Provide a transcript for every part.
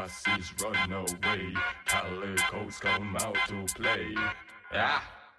Hussies run away, calicos come out to play. Yeah.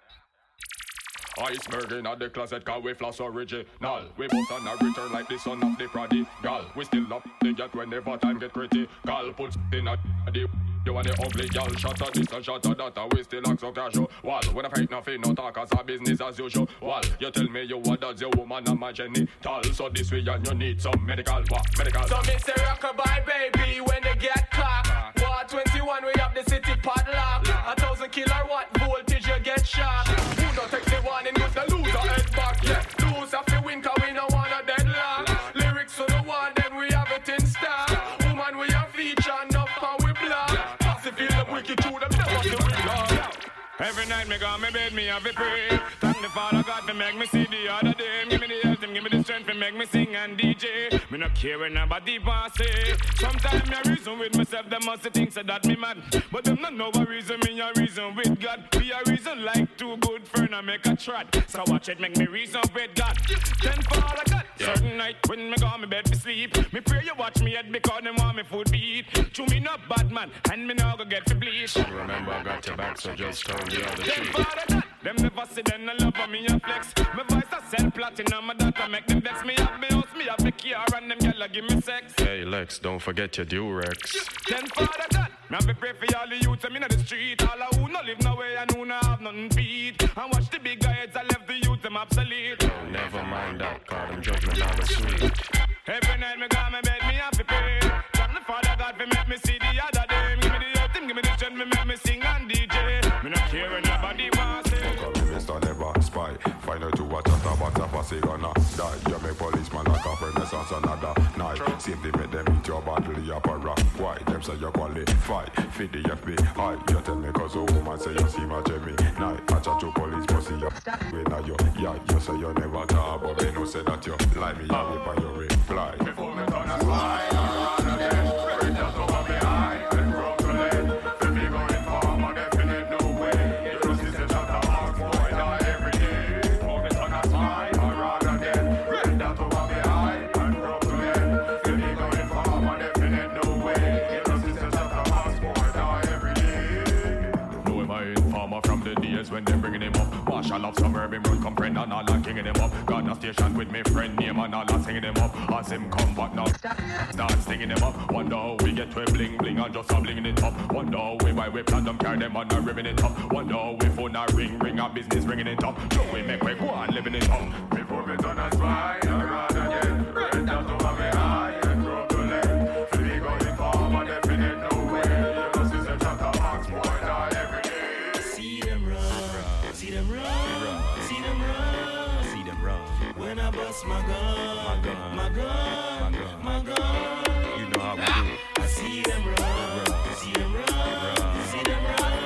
Iceberg in the closet, cause we floss original. We both on a return like the son of the prodigal. We still up the yacht whenever time get critical. Put in a the you want the ugly girl, shut up this and shut up that, and we still act so casual. Well, when I fight nothing, no talk as a business as usual. Well, you tell me you what does your woman and my genital. So this way and you need some medical, what? Medical. So Mr. Rockabye, baby, when they get clocked. War 21, we have the city padlock. 1,000 kilowatt voltage, you get shocked. Who don't take the warning, with the loser head back. Yeah, lose have to win, cause we no want a deadlock. Lyrics for the one, then we have it in stock. Woman, we have feature, enough and we block. Feel the wicked to them, never to be gone. Every night me go me bed, me have a pray. Thank the Father God to make me see the other day. Give me the health and give me the strength to make me sing and DJ. Me no care when nobody want say. Sometimes me a reason with myself, them must think so that me mad. But them not know a reason, me a reason with God. We a reason like two good friends and make a trot. So watch it make me reason with God. Then Father God, certain night when me go me bed to sleep. Me pray you watch me head because them want me food beat. To me not bad man, and me now go get to bleach. Remember I got your back, so just turn the other cheek. Them never see them, no love for me and flex. My voice a sell platinum, my data make them vex. Me have me house, me have me car, and them gyal give me sex. Hey Lex, don't forget your Durex. Then Father God, me have me pray for all the youths I'm in the street. All who no live nowhere and who no have nothing feed. And watch the big guys, I left the youth them obsolete. Oh, never mind that, cause them judgment are sweet. Every night me go my bed, me have to pray. Thank the Father God for make me see the other day. Give me the earth, give me the strength, me make me sing and DJ. Me not care when nobody wants it. Mr. Never Spy. Find out to watch out about a pussy gonna die. You make policeman like a renaissance another night. Safely make them eat your bottle, your para. Why? Them say you qualify. Feed the FBI. You tell me cause a woman say you see my Jimmy. Night. I chat to police pussy you. We know you. Yeah, you say you never talk. But they know say that you lie me. I whip on your reply. Before me turn a slide, I run again. Bring that over me eye and broke the leg. Feel me going farm on definite no way. You know see the shot of hard boy die every day. Before me turn a slide, I run again. Bring that over me eye and broke the leg. Feel me going farm on definite no way. You know see the shot of hard boy die every day. Know him I informer from the days when they bringing him up. Marshall of suburban road come friend and all and kinging him up. Got a station with me friend name and all and singing him up. As him come back now, start stinging him up. Wonder how we get to a bling bling and just a blinging it up. Wonder how we why we plan them carry them on a ribbon it up. Wonder how we phone a ring a business ringing it up. So we make we go on living it up. Before me turn a spy, I run again. Red down over me eye and broke the leg. Feel me going farm and definite no way. You know see them shot of box boy die every day. See them run, see them run, see them run, see them run. When I bust my gun, my gun, my gun, my gun. You know how we do. I see them run, see them run, see them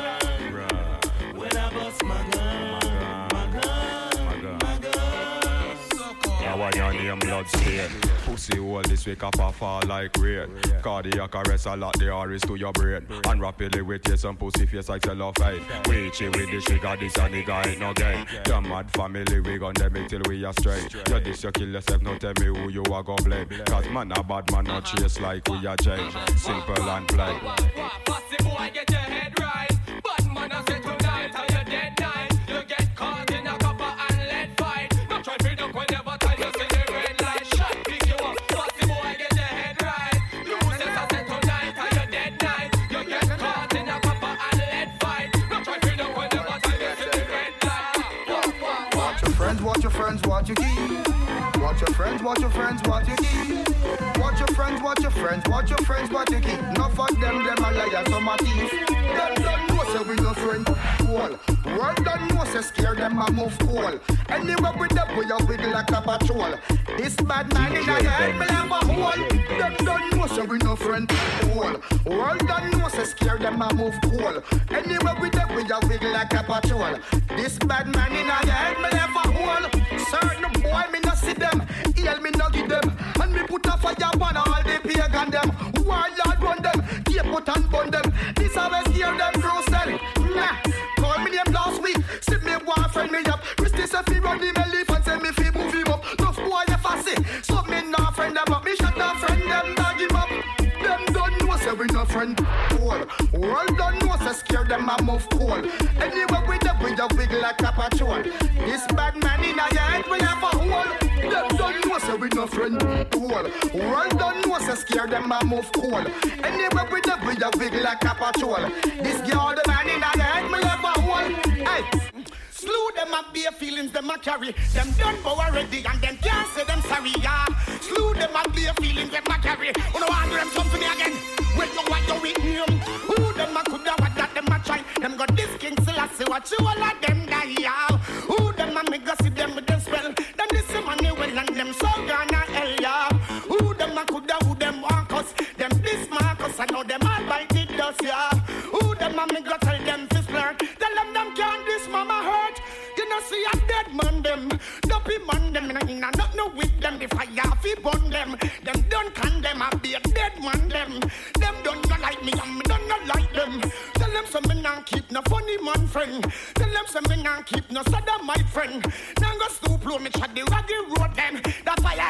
run. When I bust my gun, my gun, my gun. Now I on them blood stain. Pussy hole this week up a fall like rain. Cardiac arrest a lot the RS to your brain. And rapidly with you some pussy face like cellophane. Reach it with the sugar, this a nigga ain't no game. The mad family we gon' them it till we are straight. You this you kill yourself, no tell me who you are gon' blame. Cause man a bad man not chase like we are change. Simple and plain. Pussy boy get your head right. Bad man a say tonight till you dead night. You get caught in a copper and lead fight. Don't try to duck whenever time you see the red light. Shot pick you up. Pussy boy get your head right. You say I say tonight till you dead night. You get caught in a copper and lead fight. Don't try to duck whenever time you see the red light. Watch your friends, watch your friends, watch your keep. Watch your friends, watch your friends, watch your keep. Watch your friends, watch your friends, watch your friends, watch your keep. Enough of them a liar, some a thief. Them don't know say we no friend. Cool. World don't know say scare them a move cool. Anywhere with them we a wiggle like a patrol. This bad man in a head me have a hole. Them don't know say we no friend. Cool. World don't know say scare them a move cool. Anywhere with them we a wiggle like a patrol. This bad man in a head me have a hole. Certain boy me no see them. Heal me no give them. And me put a fire on all the pagan them. Warlord run them. Keep put and burn them. This always scare them crucial. Nah. Call me name last week. See me one friend me up. Christy say fi run him elephant. Say me fi move him up. Tough boy you fussy. So me nah friend them up. Me shut down friend them dog him up. Them don't know say we no friend. Cool. World don't know, so scare them a move cool. Anyway, we the wiggle like a patrol. This bad man in your head will have a hole. Them don't know, so we no friend. Cool. World don't know, so scare them a move cool. Anyway, we the wiggle like a patrol. This girl, the man in your head will have a hole. Hey. Slew them up bare feelings them a carry. Them done bow already and them can't say them sorry, yeah. Slew them up bare feelings them a carry. You know I do them something again. When you want your with him. Who them a coulda what that them a try. Them got this king Selassie watch you all of them die, yeah. Who them a make go see them with them spell. Then this money well and them so gonna hell, yeah. Who them a coulda who them want us. Them this Marcus I know them all bite the dust, yeah. Who them a make go tell them to flirt. Tell them can't this mama hurt. You know see a dead man them, dopey man them, and not no with them. If I have to burn them, them don't condemn. I be a dead man them. Them don't not like me, and me don't not like them. Tell them some me not keep no funny man friend. Tell them some me not keep no sada my friend. Now go stoop low, me chat the raggy road them. That's why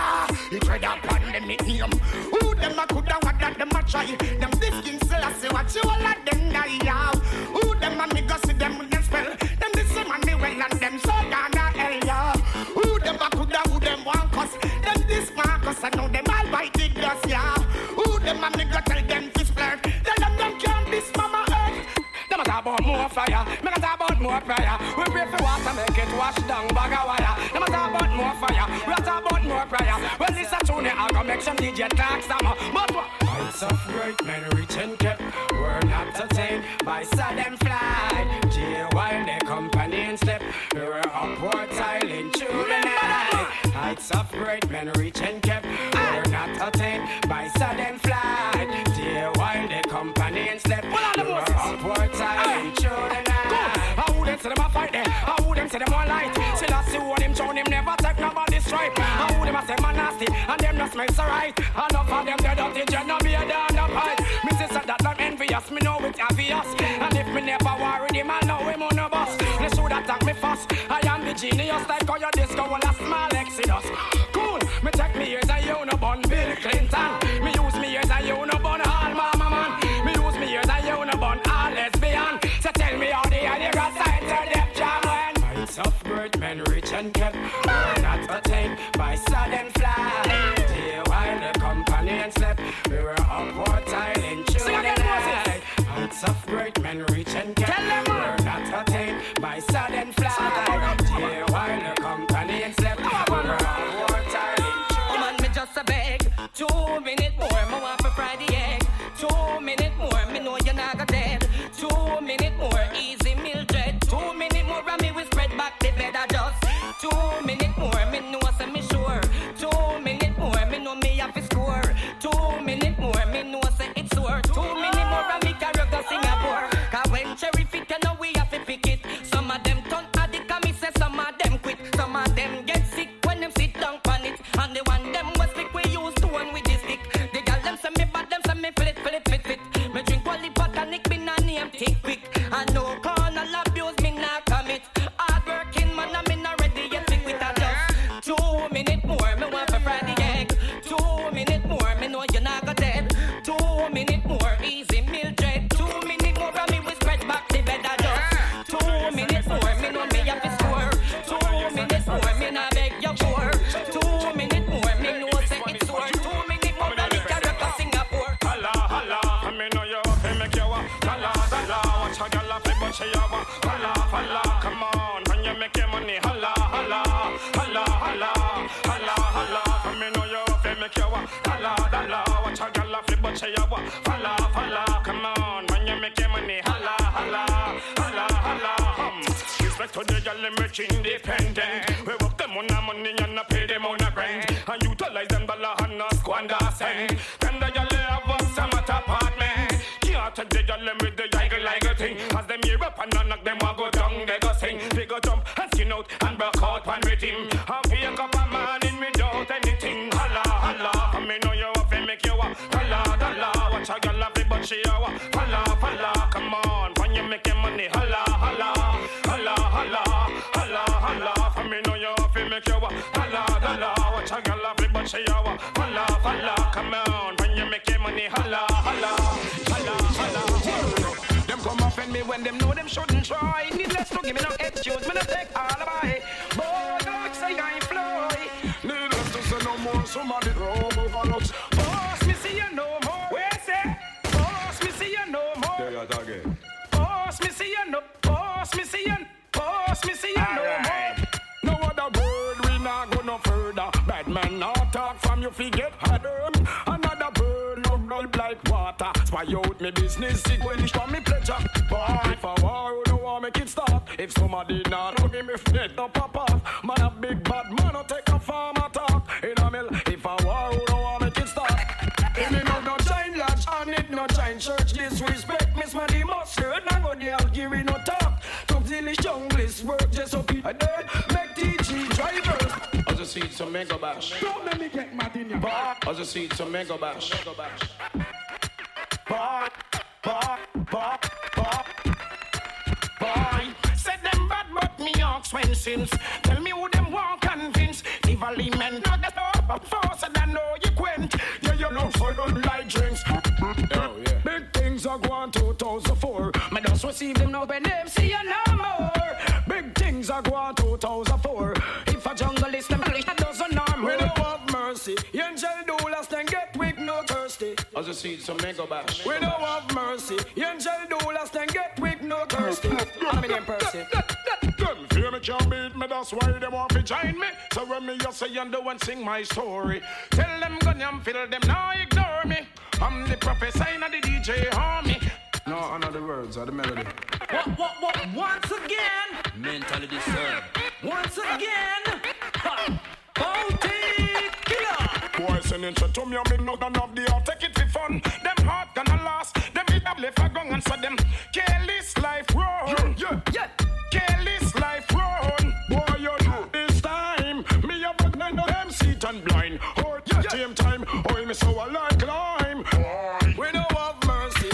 he tread upon them it name. Who them a coulda what that them a try. Them this king Selassie watch you all of them die. Who them a me go see them with them spell. Them this money well and them so gonna hell, yeah. Who them a coulda, who them want cuss. Them this Marcus, I know them all bite the dust, yeah. Who them a me go tell them to flirt. Tell them can't this mama earth. Them a talk about more fire, me a talk about more prayer. We pray for water, make it wash down bag of wire. Them a talk about more fire, we a talk about more prayer. Well this a tune, I go make some DJ talk some. But what? Heights of great men reach and kept. We're not attained by sudden flight. While the company step, we were upward tiling through the night. Heights of great men reach and kept. We're not attained by sudden flight. While the company step, we were upward tiling through the night. I wouldn't say them a fight there. I wouldn't say them one light. Still I see what him show him never take nobody's stripe. I wouldn't say man nasty and them not smell so right. Enough of them dead dirty, just no be a down the pipe. Me sister that not envious, me know it's obvious. And if me never worry him, I know him on the bus. They should attack me first. I am the genius like how your disco will a small Exodus. Cool, me check me ears and you no bun Bill Clinton. Me use me ears and you no bun all mama man. Me use me ears and you no bun all lesbian. So tell me how the hell you got signed to them jam when heights of great men rich and kept. We're not attained by sudden flight. While the company slept, we were upward tiling through the night. Heights of great men rich and kept. We're not attained by sudden flight. While the company slept, we were upward tiling through the night. Man, me just a beg 2 minutes more, me want for Friday egg. 2 minutes more, me know you're not dead. 2 minutes more, easy Mildred. 2 minutes more, and me will spread back the bed. I just 2 minutes more, me know say me sure. 2 minutes more, me know me have to score. 2 minutes more, me know say it's sore. 2 minutes more, and me carry go Singapore. 'Cause when cherry fit, you know we have to pick it. Some of them turn addict, and me say some of them quit. Some of them get sick when them sit down on it. And the one them was sick, we use to one with the stick. The girl them say me bad, them say me fit. Me drink only botanic, me nah name think quick. I know carnal abuse, me nah commit. Hard working man, I'm not ready yet to quit. I just 2 minutes more, me want for Friday egg. 2 minutes more, me know you're not got dead. 2 minutes more, easy Mildred. 2 minutes more, and me will spread back the bed. I just 2 minutes more, me know me have to score. 2 minutes more, me nah beg you for. 2 minutes more, me know say it's sore. 2 minutes more, and me carry go Singapore. Holla, holla, me know you up and make you walk. Holla, holla, watch how you laugh, but she a walk. Holla, holla, come on, when you make your money. Holla, holla, holla, holla, holla, holla, me know you up and make you walk. Holla, holla, watch how you laugh, but she a walk. Holla, holla, come on, when you make your money. Holla, holla, holla, holla. Respect to the girl, them rich independent. We work them on the money and not pay them on the rent. And utilize them dollar and not squander cent. Then the girl have us some at apartment. Can't take the girl them with the like thing. As them hear up and knock them a go down, they go sing. They go jump and skin out and broke out one with him. And wake up a man in without anything. Holla, holla, me know you up and make you walk. Holla, holla, watch a girl have it but she a walk. Holla, holla, come on, when you make your money. Holla, holla, holla, holla, holla, holla, me know you up and make you walk. Holla, holla, watch a girl have it but she a walk. Holla, holla, come on, when you make your money. Holla, holla. when them know them shouldn't try. Needless to give me no excuse, me no take alibi. Boy, don't say I fly. Needless to say no more, somebody roll overlooks. Boss, me see you no more. Where say? Boss, me see you no more. There you again. Boss, me see you no. Boss, me see you. Boss, me see you no more. No other word, we not go no further. Bad man not talk from you forget harder. Another bird, no gulp like water. Spy out me business, sick when it's from me pleasure. But if I war, you don't want make it stop. If somebody not don't give me fret, no pop off. Man a big bad man, no take a farm talk. In a mill, if I war, you don't want make it stop. If me no giant lodge, and it no giant church. Disrespect, miss man the mustard. Now go there, give me no talk. Come till the junglist work just so people dead. Make TG drivers. I just see some mega bash. Don't let me get mad in your I just see some mega bash. Boy, said them bad but me ox when since. Tell me who them want convince. The valley men not the top force and I know you quint. Yeah, you know for don't like drinks. Oh, yeah. Big things are going 2004. Me just receive them now when them see you no more. Big things are going 2004. If a jungle is them that doesn't harm. We don't have mercy. Angel do last and get weak, no thirsty. I just see some mega bash. We don't have mercy. Angel do last and get weak, no thirsty. I'm in them Percy. Them fear me can't beat me, that's why they want to join me. So when me just say and do and sing my story, tell them gun and fill them, now ignore me. I'm the professor in the DJ army. No, another words are the melody. What? Once again. Mentally disturbed. Once again. Bounty killer. Boy, send intro to me, I'm in no gun of the heart, take it for fun. Them heart gonna last, them hit up left a gun and so them careless life run. Yeah. Careless life run. Boy, you know this time, me have a blind of them seat and blind. Or same time, oh, me so I like climb. We don't have mercy.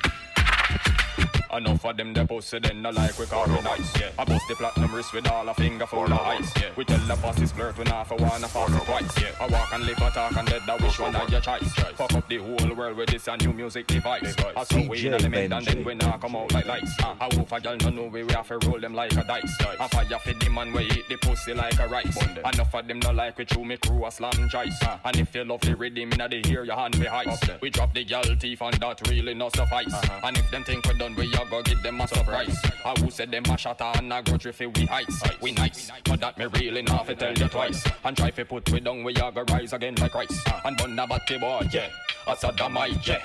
Enough of them, they pussy, then no like we call it nice, yeah. I bust the platinum wrist with all a finger full of ice, yeah. We tell the bosses flirt when half a one, a fast twice, yeah. I walk and live, I talk and dead, that which one of your choice. Fuck up the whole world with this a new music device. I saw we in the mid and then we now come out like lights. I hope a girl no know we have to roll them like a dice. I fire for the man, we eat the pussy like a rice. Enough of them no like we chew me crew a slam choice. And if you love the rhythm, inna the hear your hand be heist. We drop the girl teeth and that really no suffice. And if them think we done, we a go give them a surprise. I who said them a shatter and a grudge if we heights. We nice, but that me really not to tell you twice. And try to put we down, we a go rise again like Christ. And bun a batty boy, yeah, a sodomite, yeah.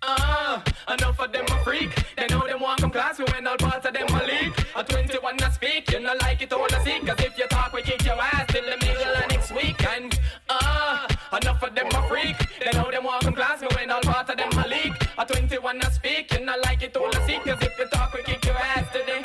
Enough of them a freak. They know them want come class, we when all parts of them a leak. A 21 a speak, you know like it all a seek. Cause if you talk, we kick your ass till the middle of next week. And enough of them a freak. They know them want come class, we when all parts of them a leak. A 21 a speak, you know like it all a seek. Cause if you talk, we kick your ass today.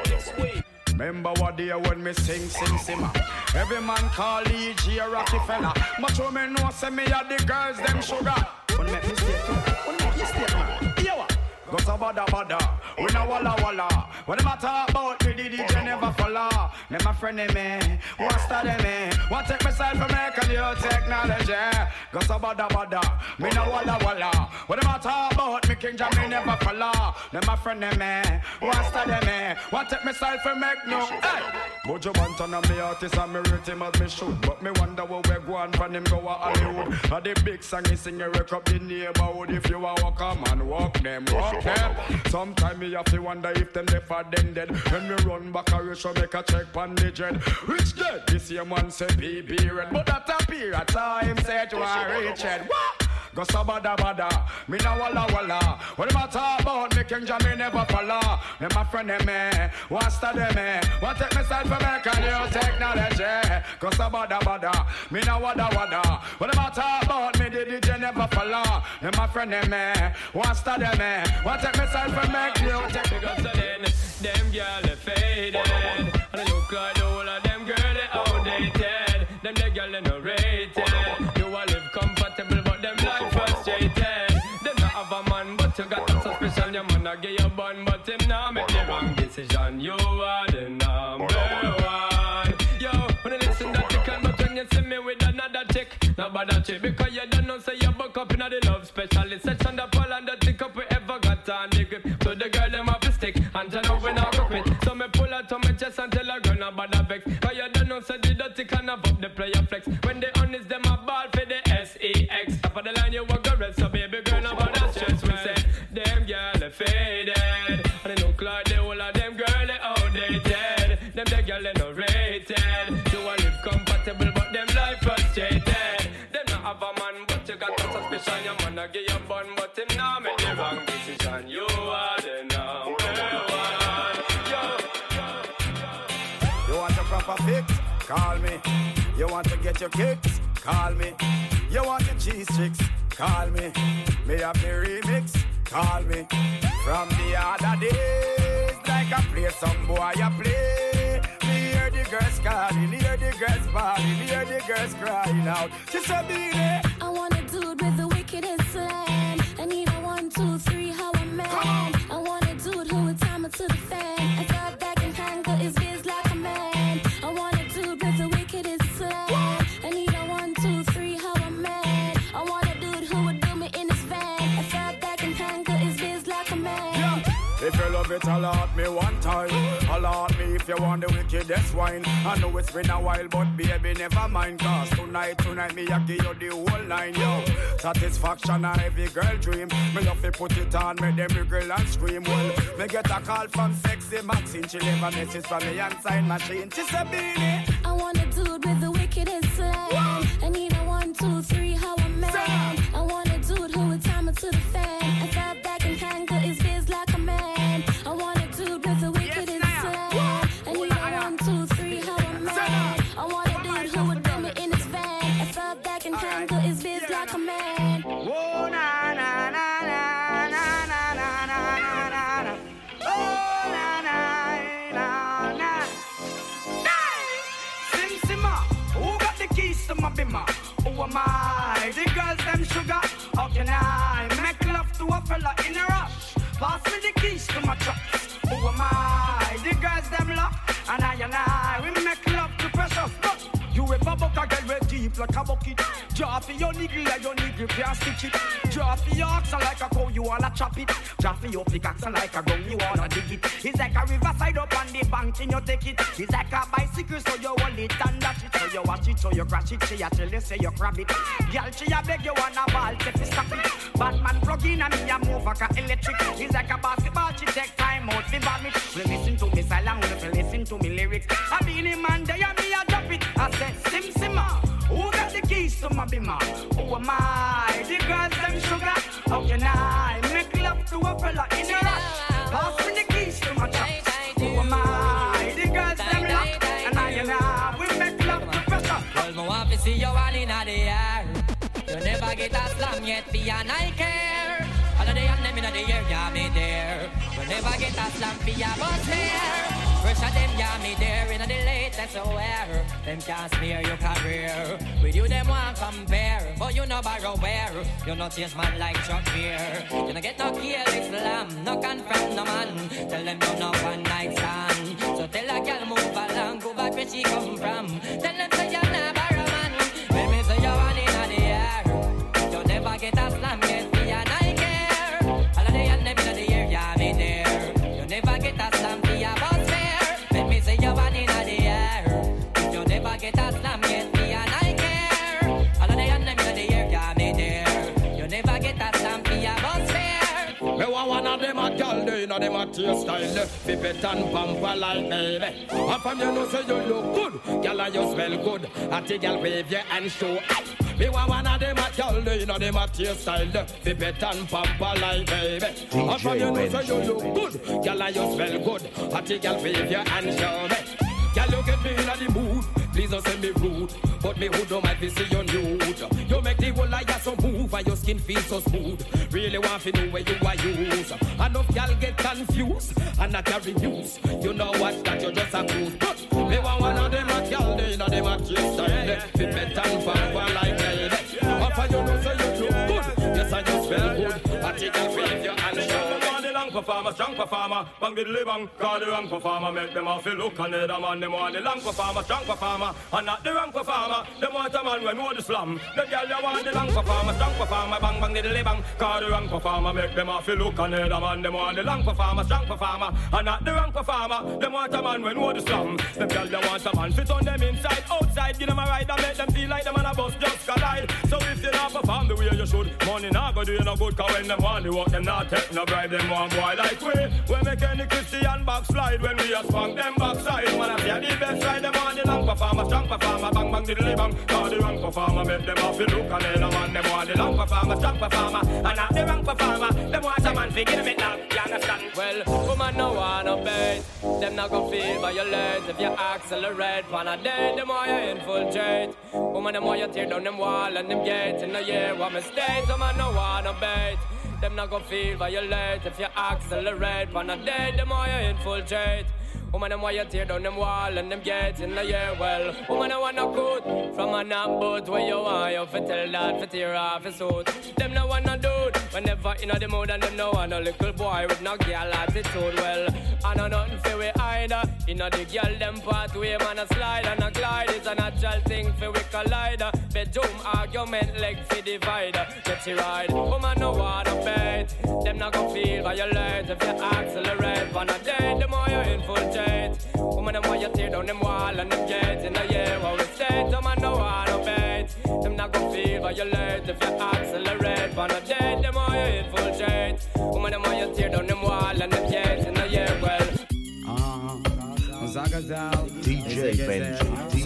Remember what day when me sing simmer. Every man call E.G. a Rockefeller. But you me know say me a the girls them sugar. Wanna make me stay too? Wanna make you stay man? Here what? Go so bada, we no walla. When them a talk about me, the DJ never follow. Them a friend of me, want study me. Want take myself from me, can you technology? Go so bada, me no walla. When them a talk about me, King Jam, me never follow. Them a friend of me, want study me. Want take myself from me, no. Hey! Buju Banton and me artist and me rate him as me should. But me wonder where we go on from him go a Hollywood. And the big song he sing, you wake up the neighborhood. If you a walk a man, walk them. Sometimes me have to wonder if them left or them dead. When me run back a rush, make a check pan the jet. Which dead? This same one say BB red. But that appear at time say to a rich head. What? Go so bada, me no walla. When them a talk about me, King Jam, me never follow. Them a friend of me, want study me. Want take myself for me, can you technology? Go so bada, me no walla. When them a talk about me, the DJ never follow. Them a friend of me, want study me. Want take myself for me, can you technology? Because then, them girl they faded. And I look like the whole of them girl they outdated. Them the girl they no rated. You a live comfortable but them life frustrated. Them not have a man but you got them suspicion. Your man a give you bun but him nah make the wrong decision. You are the number one. Yo, when you listen that you can, but when you see me with another chick, not bother chick. Because you don't know say you buck up in the love specialist section. The pole and the tick up we ever got on the grip. So the girl them have to stick and automatic and above the player flex. When they honest them a ball for the SEX. Top of the line you walk the rest, so baby girl no bother stress. We say them girl they faded, and they look like the whole of them girl they outdated. Them the girl they no rated. You want live compatible but them life frustrated. Them not have a man but you got a suspicion. Your man a give you bun but him now make the wrong decision. You are the number one. You want a proper fix? Call me. You want to get your kicks? Call me. You want the cheese chicks? Call me. Me have the remix? Call me. From the other days, like I play some boy I play. Me hear the girls calling, hear the girls bawling, hear the girls crying out. She said, "Be there." I want a dude with the wickedest slam. I need a 1, 2, 3, how a man. I want a dude who would time it to the fan. I thought that can handle his biz like a man. I want a dude with the wickedest slam. I need a 1, 2, 3, how a man. I want a dude who would do me in his van. I thought that can handle his biz like a man. Yeah. If you love it, alert me one time. Alert me if you want the wickedest wine. I know it's been a while, but baby, never mind. Cause tonight, me I give you the whole line, yo. Satisfaction and every girl dream. Me love to put it on, make them girl and scream. Well, me get a call from Sexy Maxine. She leave a message from me and sign machine. She said, "Beanie." I want a dude with the wickedest slam. I need a 1, 2, 3, how a man. I want a dude who would time it to the fan. I thought that can handle his biz like a man. I want a dude with the wickedest slam. I need a 1, 2, 3, how a man. I want a dude who would do me in his van. I thought that can handle his biz like a man. Oh, na na na na na na na na na na. Oh, na na na na. Sim Simma, who got the keys to my bimmer? Who am I? The girls them sugar. How can I make love to a fella in a rush? Pass me the keys to my trucks. Who am I? The girls them love, and I we make love to precious. But you ever buck a girl with deep like a bucket? Draw for your niggle like your niggle can't stitch it. Draw for your oxen like a cow, you wanna chop it. Draw for your pickaxe like a gun, you wanna dig it. It's like a riverside up on the bank and you take it. It's like a bicycle, so you hold it and dash it. So you watch it, so you crash it. She a tell you say you grab it. Girl, she a beg you wanna ball, take it, stop it. Batman plug in and me a move like a electric. It's like a basketball, she take time out to bomb it. We listen to me silent, we listen to me lyrics. I be the man there and me a drop it. I said, Sim Simma, who got the keys to my bimmer? Who am I? The girls them sugar. How can I make love to a fella in a rush? Pass me the keys to my truck. Who am I? The girls them lock, and I we make love to pressure. Well, my want to see you all in the air. You never get a slam yet, be an I care. All of the young them in the air, yeah, me there. You never get a slam, be a bus there. First of them, yeah, me there. In the latest aware. Them can't smear your career. With you, them want compare. But you no borrow where. You no chase man like Chuck Beer. You no get no kill Islam. No confront no man. Tell them you no one night stand. So tell a girl move along. Go back where she come from. Tell them say you're not borrow man. Let me say you're one in the air. You never get a slam yet. Be an I care. All of the young them in the air. Yeah, me there. You never get a slam. Be a boss fair. Let me say you're one in the air. You never get a slam yet. Be an I care. All of the young them in the air. Yeah, me there. You never get a slam. Be a boss fair. Me want one of them a girl, they know them a taste style. Pipet and pamper like baby. And from you know say you look good, girl and you smell good. A the girl wave your hand show. Me want one of them a girl, they know them a taste style. Pipet and pamper like baby. And from you know say you look good, girl and you smell good. A the girl wave your hand show me. Girl, you get me in the mood. Please don't say me rude, but me who don't mind to see you nude. You make the whole liar so move and your skin feels so smooth. Really want to know where you are used. Enough y'all get confused and not carry news. You know what, that you just a cruise. But me want one of them a girl, they know them a taste style. Fit better and pamper like baby. After you know say you look good, yes and you smell good. I take a wave your hand show. rank performer, strong performer. Bang diddly bang, cause the rank performer make them all feel look and the man them want the long performer, strong performer, and not the rank performer. Them want a man when know the slam. The girl they want the long performer, strong performer. Bang bang diddly bang, cause the rank performer make them all feel look and the man them want the long performer, strong performer, and not the rank performer. Them want a man when know the slam. The girl they want a man fit on them inside, outside, give them a ride and make them feel like them on a bus just collide. So if you not perform the way you should, money not go do you no good. Cause when them want the work, them not take no bribe. Them want boy like we make any Christian backslide. When we a spunk them backside. Man I say the best ride. Them want the long performer, strong performer. Bang bang diddly bang. Cause the rank performer make them off the look. And then a man them want the long performer, strong performer, and not the rank performer. Them want a man figure them it now. You understand? Well, woman no want no bait. Them not gon' feel violate if you accelerate. Pan a day, them want you infiltrate. Woman them want you tear down them wall and them gates. In the year what mistake. Woman no want no bait. Them not gon' feel violate if you accelerate. Pan a day, them want you infiltrate. Woman, them want you tear down them wall and them gates in the year. Well, woman, I want no good from a knock boat where you want you fi tell that fi tear off his suit. Them no want no dude whenever in the mood, and them no want no little boy with no girl attitude. Well, I know nothing fi we either. You know the girl them pathway, man a slide and a glide. It's a natural thing fi we collide. Bedroom argument leg fi divide. Get you ride. Woman no want no bait. Them not gon' feel violate if you accelerate. On a day, them more you infiltrate. Woman, them want you tear down them wall and them gates in the year where we stay. Them man no want no bait. Them not gon' feel violate if you accelerate. On a day, them more you infiltrate. Woman, them want you tear down them wall and them gates in the year well. DJ Benji,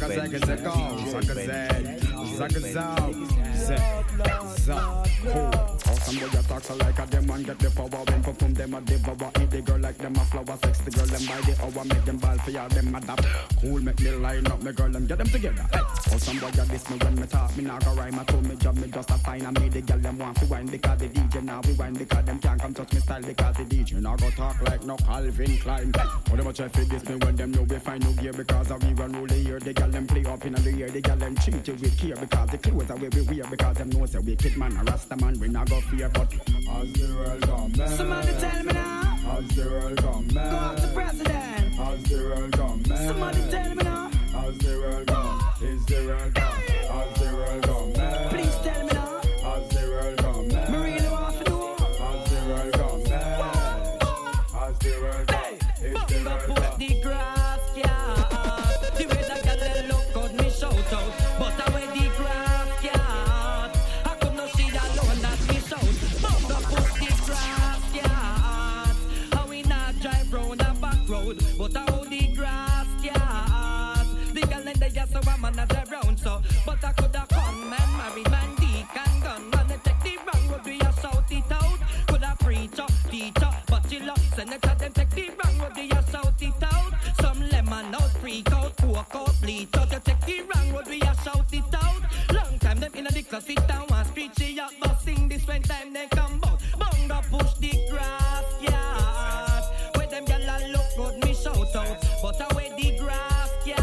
Somebody talk so like a them and get the power. When perform them a devour. Eat the girl like them a flower. Sex the girl them by the hour. Make them ball for y'all them adapt. Cool make me line up. Me girl them get them together. Hey. Oh somebody this me when me talk. Me not go rhyme. I told me job me just a fine. And me the girl them want to wine because the DJ now we wine because them can't come touch me style because the DJ now go talk like no Calvin Klein. What them a try for this me when them know we find no gear because of we run all the year. The girl them play up in the year. The girl them treat you with care because the clothes are way we wear because them know say wicked man a Rasta man we not go fear but. As the world come back. Somebody tell me now. As the world come back. Go up to president. As the world come back. Somebody tell me now. As the world come. Is the world come. As the world come back. Please tell me now. As the world come back. Me really want to know. As the world come back. As the world come. Is the world come. Put the grass, yeah. The way that girl they look good, me shout out. But I wear the grass, yeah. I could not see that alone that me shout. But I hold the grass, yeah. The girl and they just so a man at around so. But I coulda come and marry man, deacon, gun. Man, they take the wrong road, we a shout it out. Coulda preacher, teacher, but you love senator, them take the wrong road, we a shout it out. Some lemon out, freak out, pork out, bleach out. They take the wrong road, we a shout it out. Long time them in the class, sit down and preach it out. But sing this when time they come out. Bunga push the grass, yeah. Where them gyal look good, me shout out. But I wear the grass, yeah.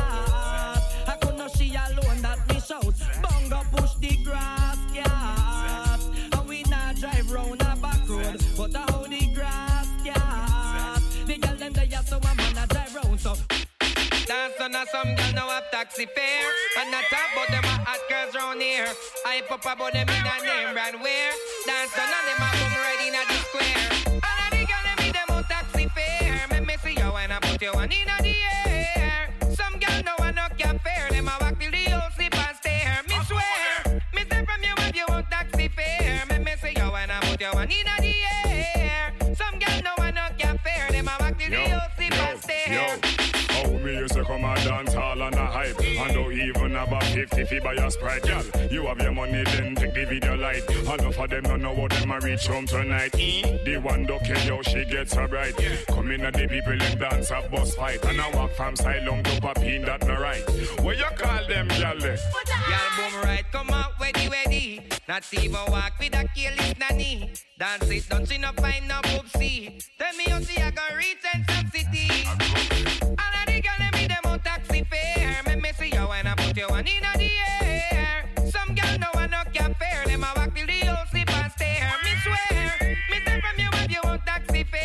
I could not see alone that me shout. Bunga push the grass, yeah. And we not drive round a back road. But I hold the grass, yeah. The gyal them they so a man a drive round so. Dance on a some girl now have taxi fare. And not talk about them a hot girls round here. I pop about them in a name brand wear. Dance on and them a come right in a the square. And a the girl them with them a taxi fare. Make me see you when I put you one in a the air. Some girl no one no can fare. Them a walk till the whole sleep and stare. Me swear, me say from you if you want taxi fare. Make me see you when I put you one in a the air. Some girl no one no can fare. Them a walk till the whole sleep and stare. Me used to come and dance all on a hype. And don't even about 50 fi buy a Sprite, girl. You have your money, then take the video light. Enough of them don't know what them a reach home tonight. The one don't care how she gets so bright. Come in at the people and dance a bus fight. And I walk from Silong to Papine, that no right. What you call them, girl? Girl, boom right, come out, weddy. Not even walk with a careless nanny. Dance it, don't see no find no poopsie. Tell me how see I go reach and some city. All of the girl them with them on taxi fare. Make me see you when I put you one in the air. Some girl no one no can fare. Them a walk till the whole sleep and stare. Me swear, me say from you if you want taxi fare.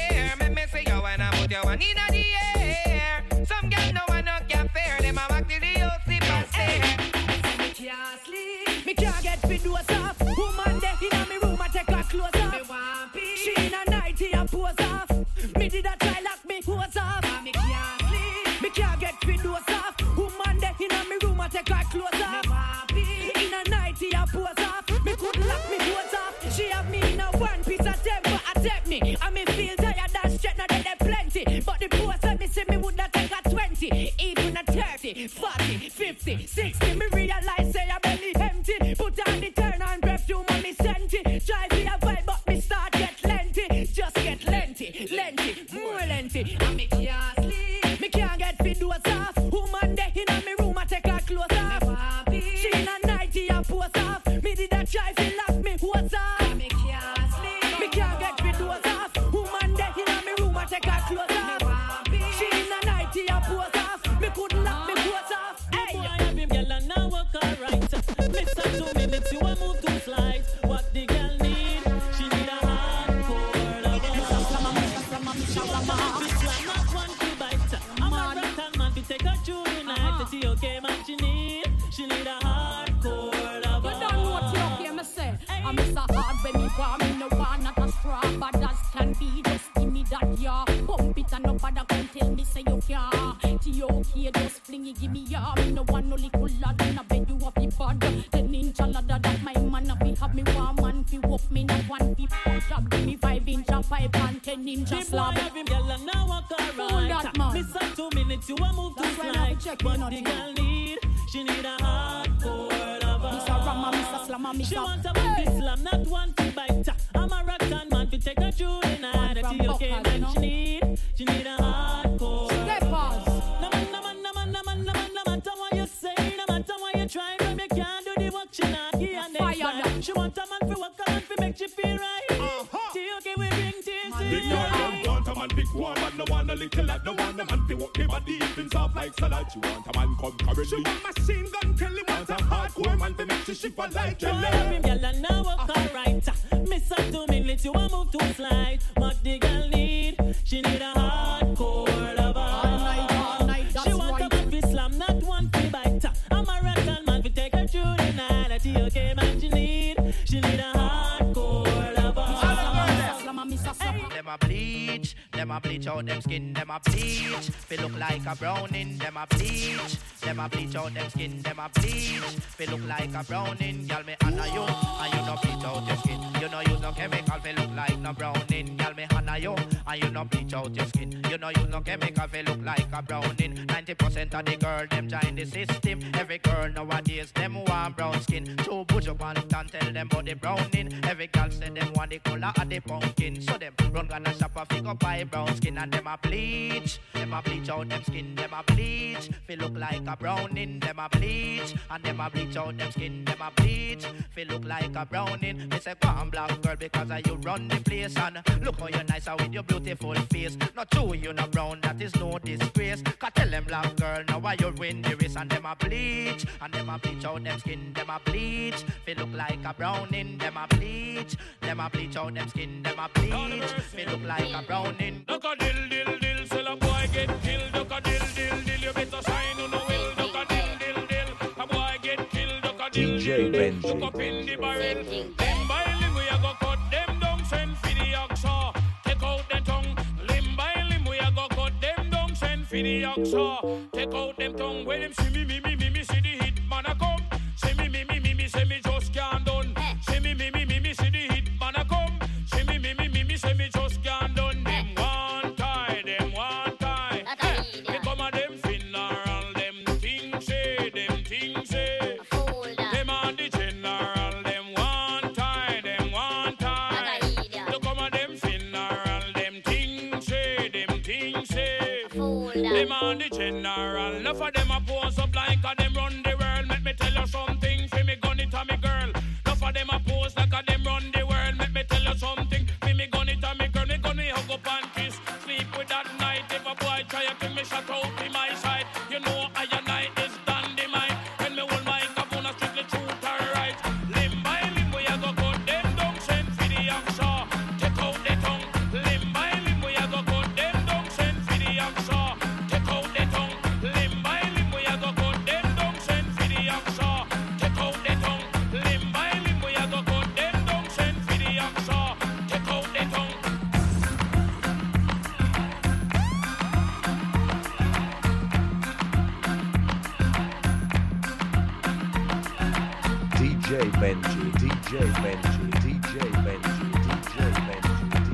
fi dose off. Woman there inna me room, I take her clothes off. She in a nightie, I pose off. Me did a try lock me hose off. Me can't sleep, me can't get fi dose off. Woman there inna me room, I take her clothes off. In a nightie, I pose off. Me could lock me hose off. She have me in a one piece of temper, attack me. I me feel tired and straight, now there plenty. But the post let me say me woulda take a 20, even a 30, 40, 50, 60. Me realize say I belly empty. Put on the turn on perfume and me senti. Try to a vibe but me start get lengthy. Just get lengthy, lengthy, more lengthy. And me can't sleep, me can't get fit doors off. Woman there inna me room, I take her clothes off. She in a nightie, I pose off. Me did a try to lock me hose off. Me can't sleep, me can't get fit doors off. Woman there inna me room, I take her clothes off. She in a nightie, I pose off. Me couldn't lock me hose off. Hey, boy, I have him, girl, and now walk alright. Miss her 2 minutes, you a move 2 slides. What the girl need? She need a hardcore lover. She want a big slam, not one to bite. I'm a rock man, we take her through the night. The T.O.K. man she need a hardcore lover. You don't know what T.O.K. me say. I'm Mr. Hard when me want me no want not a straw, but as can be, just give me that yeah. Pump it and nobody can tell me say you can't. T.O.K. just fling it, give me yeah. Me no want no little lad in a bed you have the bad. 10-inch ladder that my man a fi have me one man fi walk me no one fi push up. Give me 5-inch a pipe and 10-inch a slab. The boy have him, girl, and now walk alright. Miss her 2 minutes, you a move 2 slides. What the girl need? She need a hardcore lover. Mr. Rama, Mr. Slammer, Mr. She want a man to slam, not one to bite. I'm a rock and man to take her through the night. The T.O.K. man she need a hardcore. No matter what you say, no matter what you try, baby, you can't do the work she not here and there. She want a man to work, a man to make you feel right. T.O.K. we bring tears to Big girl don't want a man big one, but no one a little lad. No want a man to walk the body even soft like salad. She want a man come currently. She want machine gun, tell him want a hardcore man to make you shiver like jelly. Boy, girl, and now walk alright. Miss her 2 minutes, you a move 2 slide. What the girl need? She need a hardcore lover. All night, she want a man to slam, not one to bite. I'm a record man to take her through the night. A T.O.K. man she need a hardcore lover. Them a bleach out them skin, them a bleach. They look like a browning, them a bleach. Them a bleach out them skin, them a bleach. They look like a browning, y'all me honor you, and you no bleach out your skin. You no use no chemical, they look like no browning, y'all me honor you, and you no bleach out your skin. You no use no chemical, they look like a browning. 90% of the girl them join the system. Every girl nowadays them want brown skin. So put your pants and tell them about the browning. Every girl say them want the color of the pumpkin. So them run gonna shop a figure buy brown skin and them a bleach. Them a bleach out them skin, them a bleach. Feel look like a browning, them a bleach. And them a bleach out them skin, them a bleach. Feel look like a browning. They say go on black girl because you run the place. And look how you nice with your beautiful face. Not true you no brown, that is no disgrace. Cause tell them black girl now why you win the race. And them a bleach. And them a bleach out them skin, them a bleach. Feel look like a browning, them a bleach. Them a bleach out them skin, them a bleach. Feel look like a browning. Duck a dill, sell a boy get killed. Duck a dill, you better shine on the will. Duck a dill, a boy get killed. Duck a dill, DJ Benji. Duck up in the barrel. Them by limb we a go cut them down. Send for the oxa. Take out the tongue. Limb by limb we a go cut them down. Send for the oxa. Take out them tongue. When them see me, see the hit man a come. See me, say me just can't done. See me, see the hit man a come. See me, say me just can't done. Them one tie. They come a them funeral, them things say. Them on the general, them one tie. They come a them funeral, them things say. Them on the general, enough of them a pose up like a them run the world. Let me tell you something, fi me gun it a me girl. Enough of them a pose like a them run the world. Let me tell you something, fi me gun it a me girl. Me gun me hug up and kiss, sleep with that night. If a boy try to me shut out in my side, you know I and I is dynamite. When me hold my capone, strictly truth and right. Limb by limb we a go cut them down. Send for the oxa, take out the tongue. Limb by limb we a go cut them down. Send for the oxa, take out the tongue. Limb by limb we a go cut them down. Send for the oxa, take out the tongue. Limb by DJ Benji, DJ Benji, DJ Benji, DJ Benji.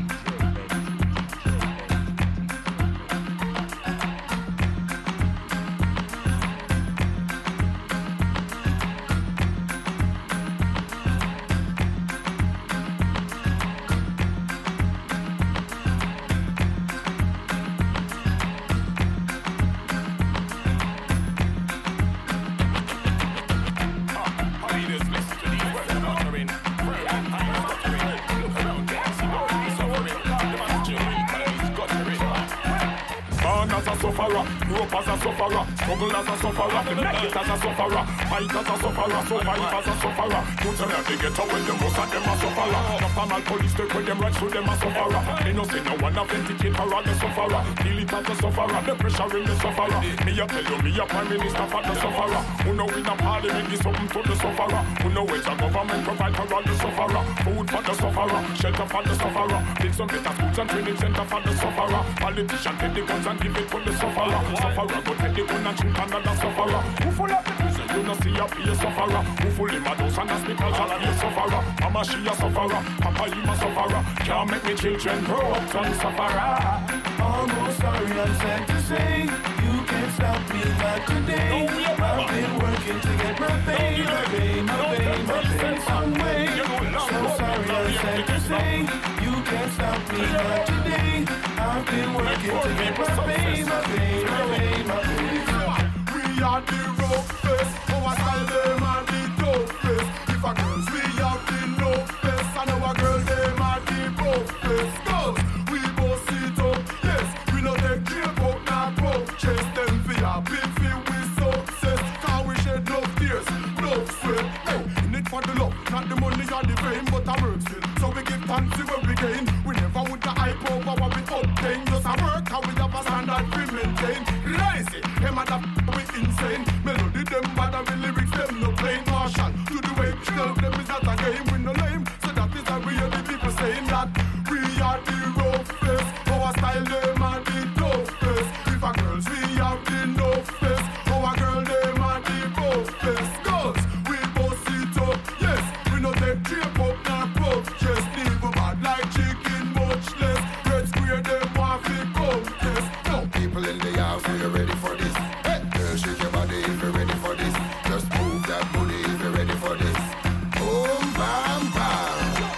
Rope as a sufferer, struggle as a sufferer, make it as a sufferer, fight as a sufferer, survive as a sufferer. You tell me they get up when the most of them a sufferer. Just a mal police take when them right through them a sufferer. They no say no one authenticate for all the sufferer. Feel it as a sufferer, the pressure in the sufferer. Me a tell you, me a prime minister for the sufferer. Who know in a parliament is something to the sufferer. Who know it's a government provide for all the sufferer. Food for the sufferer, shelter for the sufferer. Build some better schools and training center for the sufferer. Politicians take the guns and give it to the sufferer. Sufferer go take the gun and shoot another sufferer. Who full of the prison, you no see a be a sufferer. Who full in my house and hospitals and be a sufferer. Mama she a sufferer, Papa him a sufferer. Can't make me children grow up to sufferer. Almost sorry, I'm sad to say you can't stop me not today. I've been working to get my pay, my pay, my pay, my pay some way. So sorry, I'm sad to say you can't stop me not today. I've been working to get my pay, my pay, my pay, my pay. We are the rope face, our style them are the dope face. If a girls we have the no face, and our girl them are the broke face. Girls, we both sit up, yes, we no take care about not broke. Chase them for happy, feel we success. Cause we shed no tears, no sweat. Hey, in it for the love, not the money or the fame, but a work skill. So we give thanks to what we gain. We never would the hype over what we obtain. Just a work, how we have a standard we maintain. Lazy, them at the we insane. Melody them bad and the lyrics them no plain. Marshall, to the way we tell them is not a game. We no lame, so that is why we hear the people saying that we are the rough face. Our style them are the tough face. If a girls we have the no face. Our girl them are the both face. Girls, we both sit up, yes. We no take drape up, not puff. Just leave a bad like chicken, much less. Red square them want to come test. No people in the house, are you ready for this? Hey, girl, shake your body if you're ready for this. Just move that booty if you're ready for this. Boom, bam, bam.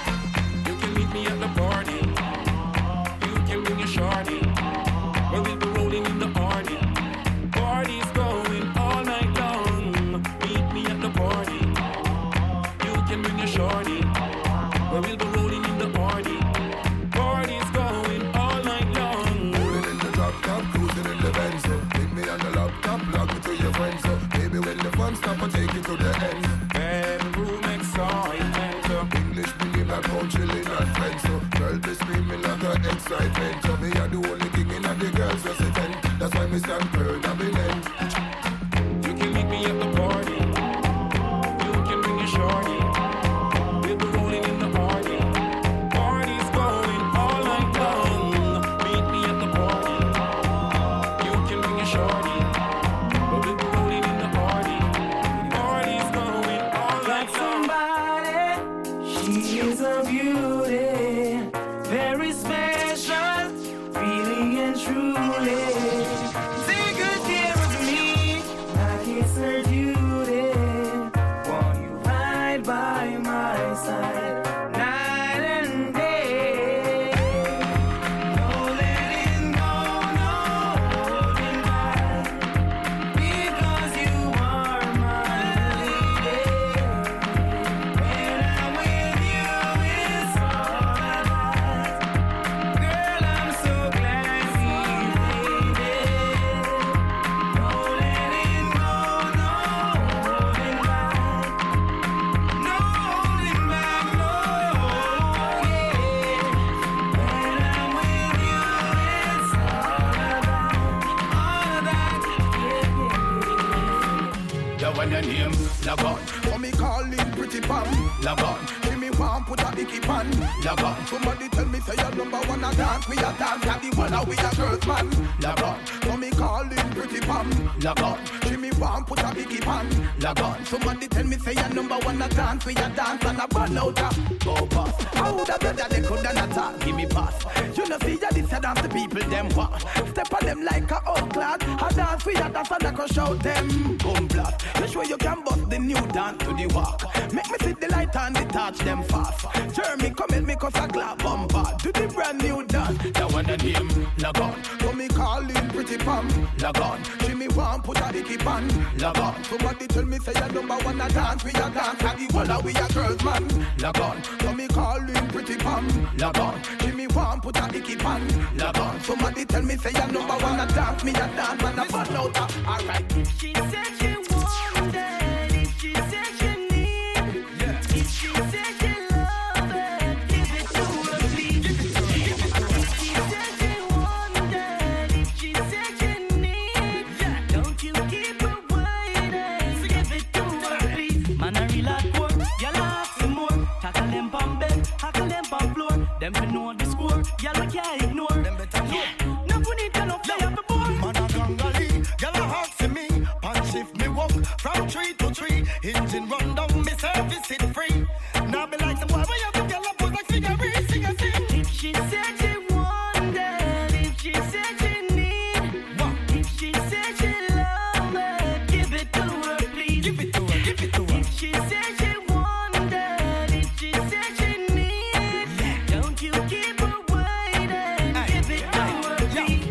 You can meet me at the party. You can bring your shorty. Well, we'll be rolling in the party. Party's going all night long. Meet me at the party. You can bring your shorty. Well, we'll be rolling in the party. Party's going all night long. Rolling in the drop top, cruising in the Benz. Pick me on the laptop, log me to your friends. So baby, when the fun stop, I'll take you to the end. Bedroom excitement. English medium like pound chilling and friends. So girl be screaming like an excitement. So me are the only king in the girls resident. That's why me stand proud and be lent. You can meet me at the party. You can bring your shorty. We'll be rolling in the party. Party's going all night long. Meet me at the party. You can bring your shorty. We'll be rolling in the party. Party's going all night long. Somebody, she is a beauty, very special, really and truly. Take good care of me, like it's her duty. Want you right by my side, night and day. No letting go, no holding back, because you are my lady. When I'm with you, it's all I got. Girl, I'm so glad we made it. No letting go, no holding back. No holding back, no, yeah. When I'm with you, it's all I got. Yeah, when your name log on, for me calling pretty pam log on. Give me want put a icky pan. Log on. Somebody tell me say you're number one a dance. We a dance at the one we a girls man. Log on. So me call in pretty pam. Log on. She me want put a icky pan. Log on. Somebody tell me say you're number one a dance. We a dance and a ball out a go pass. How would I better they couldn't attack? Give me pass. You know see ya this a dance the people them want. Step on them like a old clad. A dance we a dance and I crush out them. Boom blast. You sure you can bust the new dance to the walk. Make me see the light and the touch them fast. Jeremy come help me cause I clap bumper. Do the brand new dance. That one the name log on. So me call in pretty pam. Log on. She me want put a icky pan. Log on. Somebody tell me say you're number one a dance. We a dance and the whole we a girls man. Log on. So me call in pretty pam. Log on. She me want put a icky pan. Log on. Somebody tell me say you're number one a dance. Me a dance and a ball out. Alright. She said she wanted, if she said she need, if she said she love it, give it to her please. If she said she wanted, if she said she need, don't you keep her waiting, so give it to her please. Man a real hardcore, y'all have some more. Tackle them on bed, tackle them on floor. Them fi know the score, y'all we can't ignore. Them better know. No we need to know play up the board. Man a gangali, y'all a hawk for me. Punch if me walk from tree to tree. Engine run down, me service it free. Now be like some boy, where you have to get up, put like figure, sing a sing. If she said she wanted, if she said she need, if she said she love it, give it to her please. Give it to her, give it to her. If she said she wanted, if she said she need, don't you keep her waiting, give it to her please.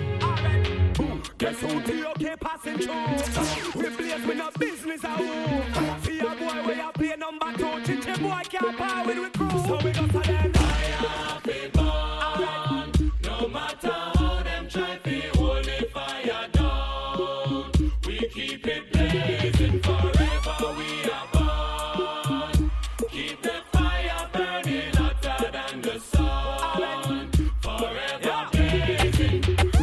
Guess who the okay passing through? We blaze with no business at home. See a boy where you play number 2. Chichi boy can't power with we crew. So we go to them. Fire be born. No matter how them try to hold the fire down, we keep it blazing forever. We are born. Keep the fire burning hotter than the sun. Forever blazing.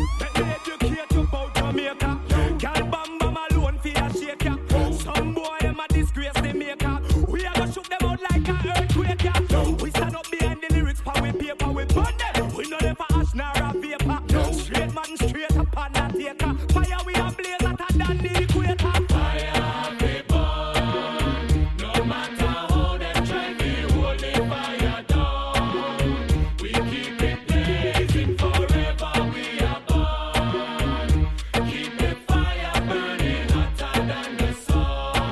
Educate you about Jamaica. Girl bam bam alone for your shaker. Some boy them a disgrace the maker. We a go shoot them out like a earthquake. We stand up behind the lyrics, pa we paper we burn them. We know them for ash nor a vapor. Straight man straight up on that taker. Fire we a blaze hotter than the equator. Fire be burn. No matter how them try to hold the fire down, we keep it blazing forever. We are born. Keep the fire burning hotter than the sun.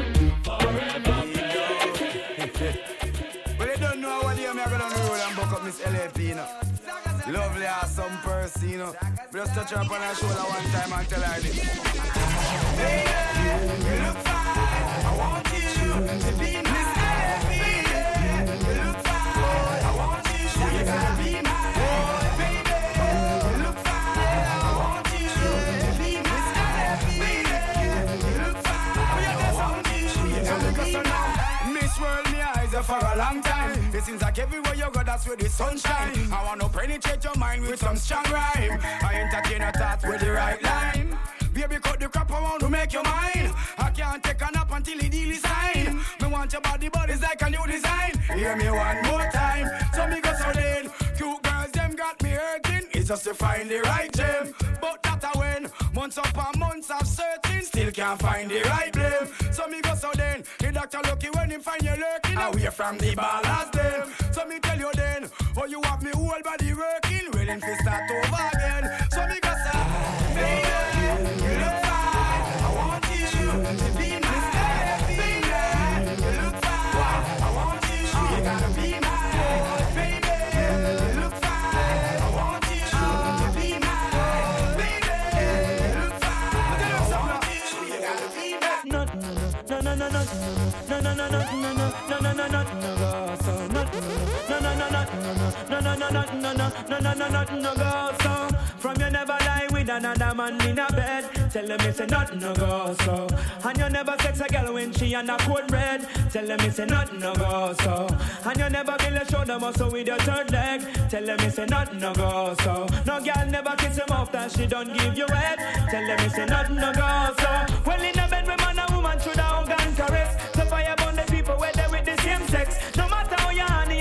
Forever blazing. But you don't know what I'm gonna roll and buck up Miss LAP, you know. Lovely awesome person, you know. Just touch her up on her shoulder one time and tell her this. Baby, you look fine. I want you to be Miss LAP. You look fine. I want you to be my baby. You look fine. I want you to be Miss LAP. You look fine. I want you to be my Miss World, me eyes are for a long time. It seems like everywhere you go, that's where the sunshine. I want to penetrate your mind with some strong rhyme. I entertain your thoughts with the right line. Baby, cut the crap around to make your mind. I can't take a nap until the deal is signed. Me want your body, but it's like a new design. Hear me one more time. So me go so then. Cute girls, them got me hurting. It's just to find the right gem. But that I win. Months upon months of searching. Still can't find the right blame. So me go so then. The doctor lucky when him find you lurking. Away from the ballast then. So me tell you then. Oh, you have me whole body working. Willing to start over again. So me go so. Baby, you look fine. I want you to be my baby. You look fine. I want you. You gotta be my baby. You look fine. I want you to be my baby. You look fine. I want you. You gotta be my. No, from you never lie with another man in a bed. Tell them it's a nothing no go so. And you never sex a girl when she on a cold red. Tell them it's a nothing no go so. And you never feel a shoulder muscle with your third leg. Tell them it's a nothing no go so. No girl never kiss him off that she don't give you head. Tell them it's a nothing no go so. Well in a bed with man and woman should have hug and caress. So fire burn the people where they with the same sex. No matter how you honey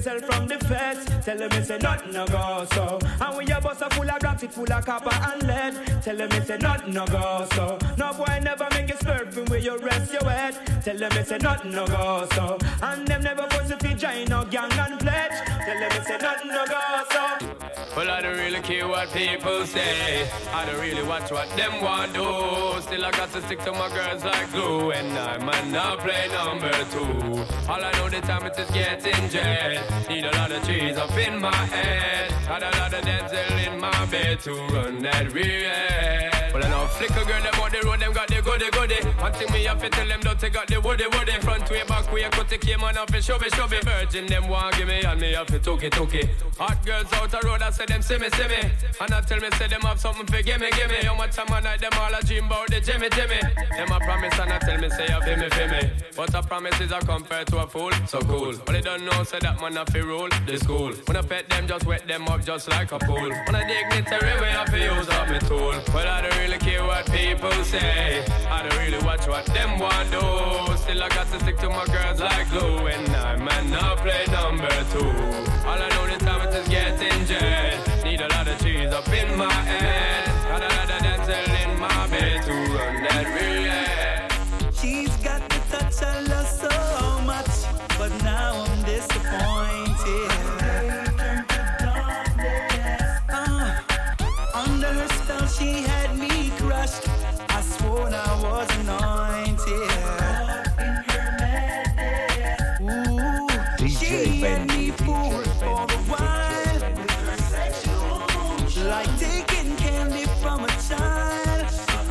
yourself from the feds. Tell them it's a nothing no go so. And when your bus are full of rocks, it full of copper and lead. Tell them it's a nothing no go so. No boy never make it surfing where you rest your head. Tell them it's a nothing no go so. And them never force if you join no gang and pledge. Tell them it's a nothing no go so. Well, I don't really care what people say. I don't really watch what them want do. Still I got to stick to my girls like glue. And I might not play number 2. All I know the time it is getting jet. Need a lot of trees up in my head. Got a lot of Denzel in my bed to run that real. Well, I know flicker girl, them on the road, them got the goody. One thing me have to tell them, don't take out the woody. Front way, back way, cut the came on off and show me. Virgin, them want give me, and me have to took it. Hot girls out the road, I say them see me. And I tell me, say them have something for gimme. How much time I night, them all a dream about the Jimmy. Them a promise, and I tell me, say you feel me. But a promise is a compare to a fool, so cool. But they don't know, say that man have to rule the school. When I pet them, just wet them up just like a pool. When I dignitary way, I have to use up my tool. But I don't really care what people say. I don't really watch what them want do. Still I got to stick to my girls like glue. And I might not play number 2. All I know the time it is getting jet. Need a lot of cheese up in my head. Got a lot of Denzel in my bed to run that relay. She's got the touch I love so much, but now I'm disappointed. Under her spell she had me crushed. I swore I was anointed. Ooh, she had me fooled for a while, like taking candy from a child.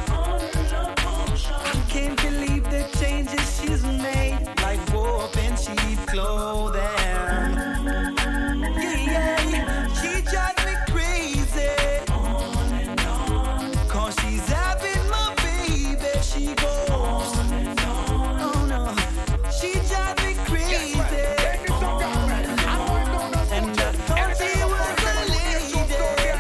I can't believe the changes she's made, like warp and cheap clothing. Yeah, she drives me crazy. On and on, 'cause she's having my baby. She goes on and on. Oh no, she drives me crazy. On and on, and I thought she was a lady.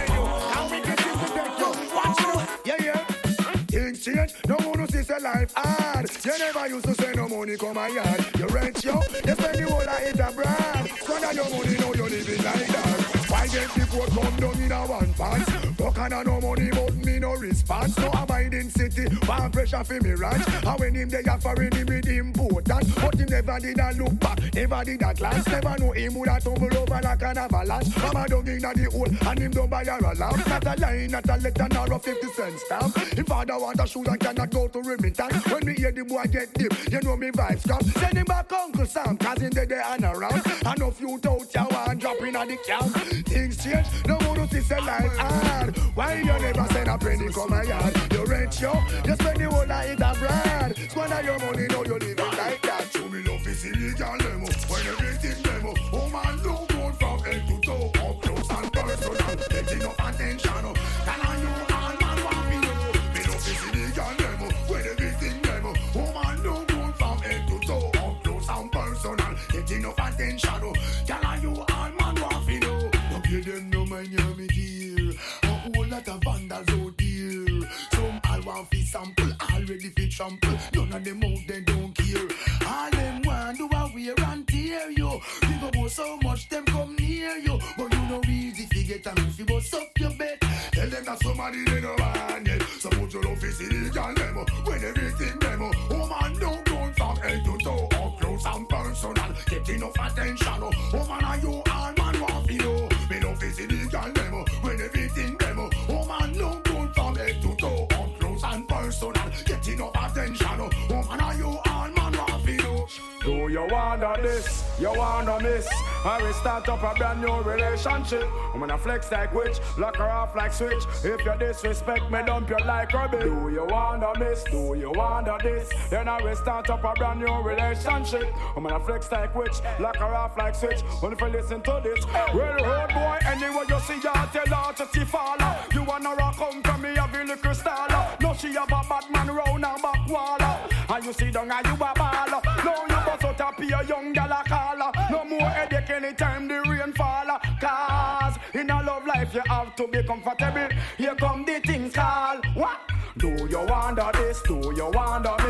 Things change, no one who sees a life hard. You never used to say no money come my yard. You rent yo, you spend the whole of it abroad. Squander your money, now you living like that. Why get the quote come down in a one pants? Fuck and no money, but me no response. No abiding city, one pressure for me ranch. And when him they are foreign, him with important. But him never did a look back, never did a glance. Never know him would have tumble over like an avalanche. Mama dug in the hole, and him don't buy her a lamp. Not a line, not a letter, nor a 50-cent stamp. Him father want a shoe that cannot go to Remington. When me hear the boy get deep, you know me vibes come. Send him back Uncle Sam, 'cause in the day and around. And if you doubt you want drop in at the camp. Things change, no one to see life hard. Why you never send a penny come my yard? You rent yo, you spend the whole of it abroad. Squander your money, now you live it like that. Show me love is illegal demo, when everything demo. Oh man, no good from head to toe, up close and personal. Get enough attention, can I you all man want me know? Me love is illegal demo, when everything demo. Oh man, no good from head to toe, up close and personal. Get enough attention, can I you all man want me know? Don't give them no money, me deal. A whole lot of vandals out here. Some all want fi sample, already fi trample. None of them out they don't care. All them want do a wear and tear you. Think about so much them come near you, but you know easy fi get a me fi bust up your bed. Tell them that somebody they no want it. Suppose you love is illegal demo, when everything demo. Oh man, don't go from head to toe, up close and personal. Get enough attention. Oh man, are you all man want fi know? Me love is illegal demo, when everything demo. Oh man, don't go from head to toe, up close and personal. Get enough attention. Oh man, are you all man want fi know? Do you wanna this? You wanna miss? I will start up a brand new relationship. I'm gonna flex like witch, lock her off like switch. If you disrespect me, dump you like rubbish. Do you wanna miss? Do you wanna this? Then I will start up a brand new relationship. I'm gonna flex like witch, lock her off like switch. When if you listen to this, well, road boy, anyway you see her, tell her to see follow. You wanna rock come from me, have a little style. No, she have a bad man round her back wall. And you see down and you a baller. No, you bust out a pure young gal a caller. No more headache anytime the rain fall. Cause in a love life you have to be comfortable. Here come the things call. What? Do you wonder this? Do you wonder this?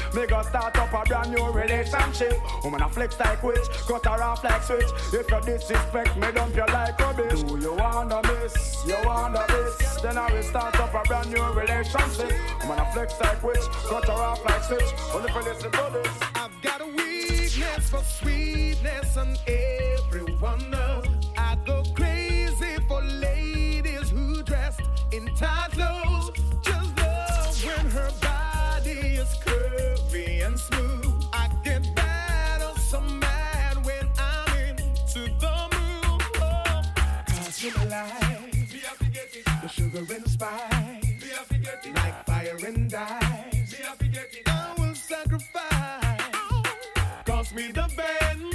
Me go start up a brand new relationship. Woman a flex like witch, cut her off like switch. If you disrespect me, dump you like rubbish. Do you wanna miss? You wanna miss? Then I will start up a brand new relationship. Woman a flex like witch, cut her off like switch. Only for listen to this. I've got a weakness for sweetness and everyone knows. I go crazy for ladies who dressed in tight clothes. Just love when her body is curvy and smooth. I get bad or so mad when I'm into the mood. Oh, 'cause you're alive. The sugar and spice. Like fire and ice. I will sacrifice. Cost me the bend.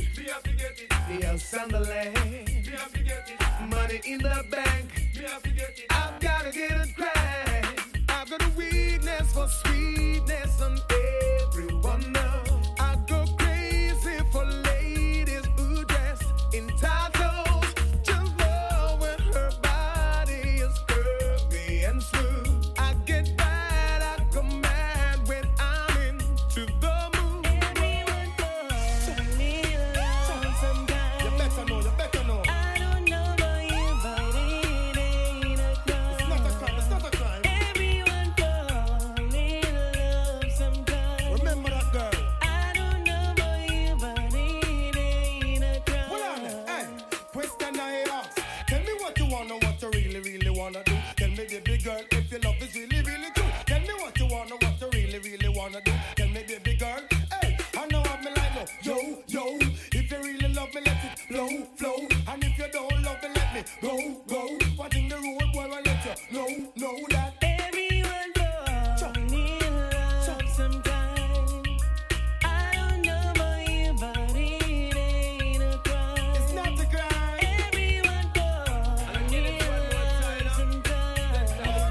The house and the land. Money in the bank. I've gotta get it cracked. I've got a weakness for sweetness and everyone knows. I go crazy for ladies who dress in tight clothes. Just love when her body is curvy and smooth. I get bad, I go mad when I'm into the mood. Everyone goes a little love sometimes. You better know, you better know. I don't know about you, but it ain't a crime. It's not a crime, it's not a crime. Everyone goes a little love sometimes. Remember that girl. I don't know about you, but it ain't a crime. Hold on, hey, question I ask. Tell me what you wanna, what you really, really wanna do. Tell me, baby girl, if your love is really, really true. Tell me what you wanna, what you really, really wanna do. Tell me, baby girl, hey, I know what me like, no. Yo, yo, if you really love me, let it flow, flow. And if you don't love me, let me go, go. Watching the road, boy, I let you know that everyone goes a little love sometimes. I don't know about you, but it ain't a crime. It's not a crime. Everyone goes a little love sometimes.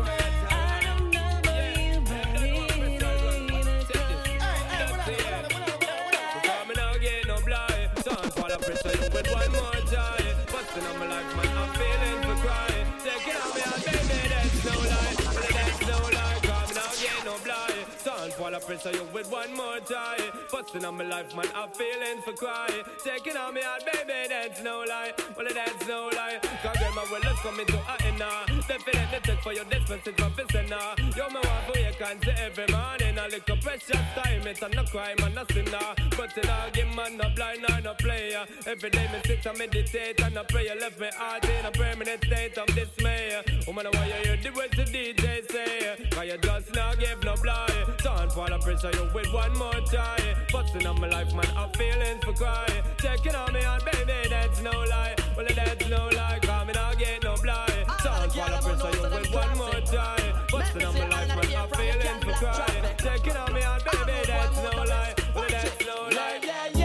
I don't know about you, but it ain't a crime. Because me now get no blind. Son, for the pressure you with one more time. Busting on my life, man, I'm feeling for crying. Taking on me out, baby, that's no lie. That's no lie, cause me now get no blind. Son, for the pressure you with one more time. Busting on my life, man, I'm feeling for crying. Taking on me out, baby, that's no lie. Well, that's no lie. Cause girl, my will is coming to a end now. Definitely take for your dispensing from now. You're my one for your cancer every morning. A little precious time, it's no crime and no sinner. But in a game, man, no blind or no player. Every day, me sit and meditate and I pray. Left me heart in a permanent state of dismay. Woman, why you hear the words the DJ say? Cause you just now give no blind. Son, for the pressure you with one more try. Busting on my life, man, I'm feeling for crying. Checking on me out, baby, that's no lie. Well, that's no lie, cause me now get no blind. Son, for the pressure you with one more try. Busting on my life, man, I'm feeling for crying. Checking on me out, baby, that's no lie. Well, that's no lie.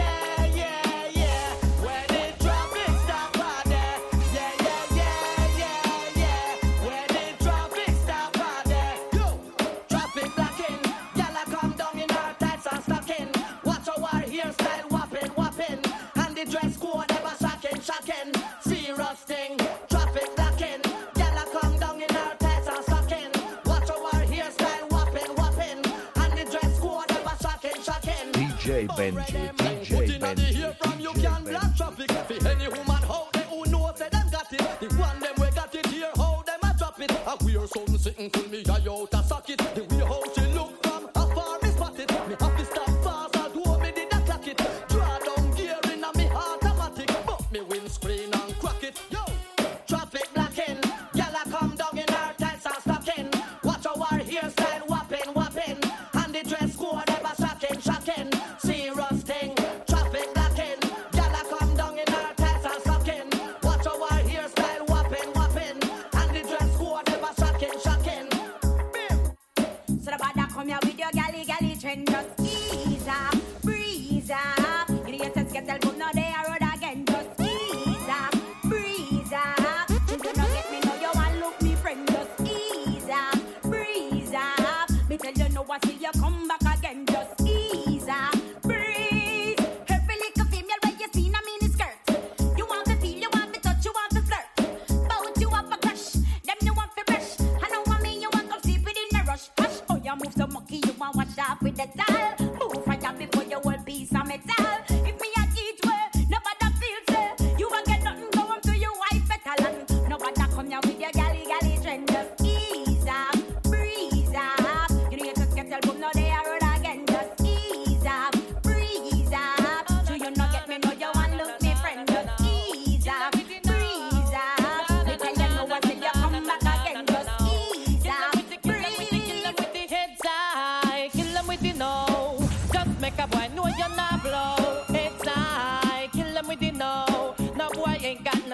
Dress code ever shocking, serious thing. Traffic blocking, gyal a come down in her tights and stocking. Watch our hairstyle whopping, and the dress code ever shocking. DJ Benji, DJ Benji. Hear from you can block traffic. For any woman out there who knows that them got it. The one them we got it here, how them a drop it. A weird something sitting till me eye out a socket. The way how she look from afar me spot it. Me have to stop fast, although me did a clock it. Draw down gear in a me automatic, but me windscreen and crack it. Yo, traffic blocking, gyal a come down in her tights and stocking. Watch our hairstyle whopping, and the dress code ever shocking. Serious thing, traffic blocking, gyal a come down in her tights and stocking. Watch our hairstyle whopping, and the dress code ever shocking. So the bad come here with your galley trend, just ease up, breeze up. You know your get tell no they are road again, just ease up, breeze up. You do not get me, know you want look me friend, just ease up, breeze up. Me tell you no I see you come back again, just ease up, breeze. Every little female where you see in a mini skirt. You want to feel, you want to touch, you want to flirt. Bout you have a crush, them you want to brush. I know what me you want to sleep within a rush. Hush, oh you move so monkey, you want wash off with the towel. Move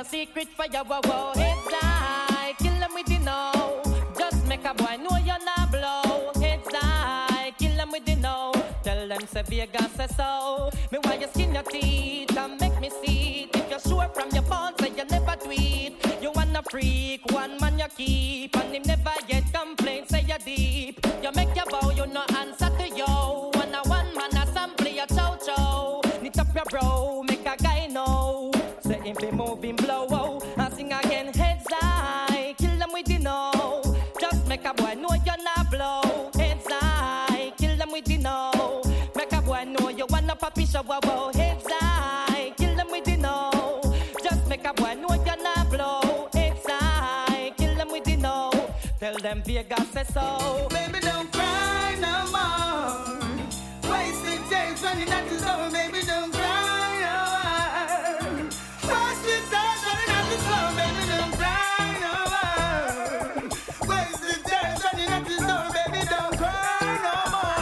secret for your wow. Heads high, kill them with the know. Just make a boy know you're not blow. Heads high, kill them with the know. Tell them say Vegas say so. Me why you skin your teeth and make me see it. If you're sure from your bones say you never tweet. You wanna freak, one man you keep. And him never get complaints, say you deep. You make your bow, you no answer to yo. One man assembly your chow. Knit up your bro, make a guy know. Say him be moving blow, oh. And sing again, heads high. Kill them with the know. Just make a boy know you're not blow. Heads high, kill them with the know. Make a boy know you wanna papi show, wow. Heads high, kill them with the know. Just make a boy know you're not blow. Heads high, kill them with the know. Tell them Vegas say so. Baby, don't cry no more. Wasted days running out the door. Baby, don't cry no more. Wasted days running out the door. Baby, don't cry no more. Wasted days running out the door. Baby, don't cry no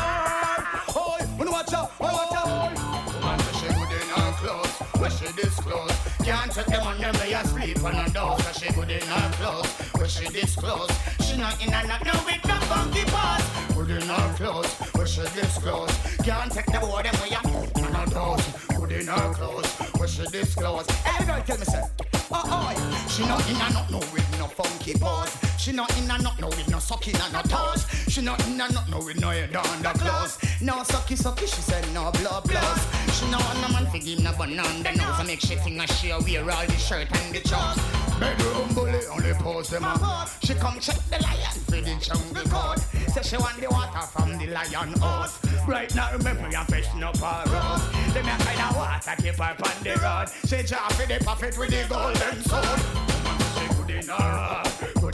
more. Oh, wanna watch out, watch out. Man, she good in her clothes, where she disclose. Can't take them on them, they asleep on her door. So she good in her clothes, where she disclose. She not in and not no with no funky paws. Good in her clothes, where she disclose. Can't take the boy them way up on her toes. Good in her clothes, where she disclose. Hey girl, tell me say, oh, she not in and not no with no funky paws. She not in and not no with no sucking and no toes. She not in and not no with no head on the clothes. No sucky, she said no blood. She no want no man for give no bun on the nose. I make she think that she wear all the shirt and the shorts. Bedroom bully only pose them up. She come check the lion for the jungle code. Say she want the water from the lion house. Right now remember you freshen up her road. Them a kind of water keep her on the road. She drop for the prophet with the golden sword. She good in her,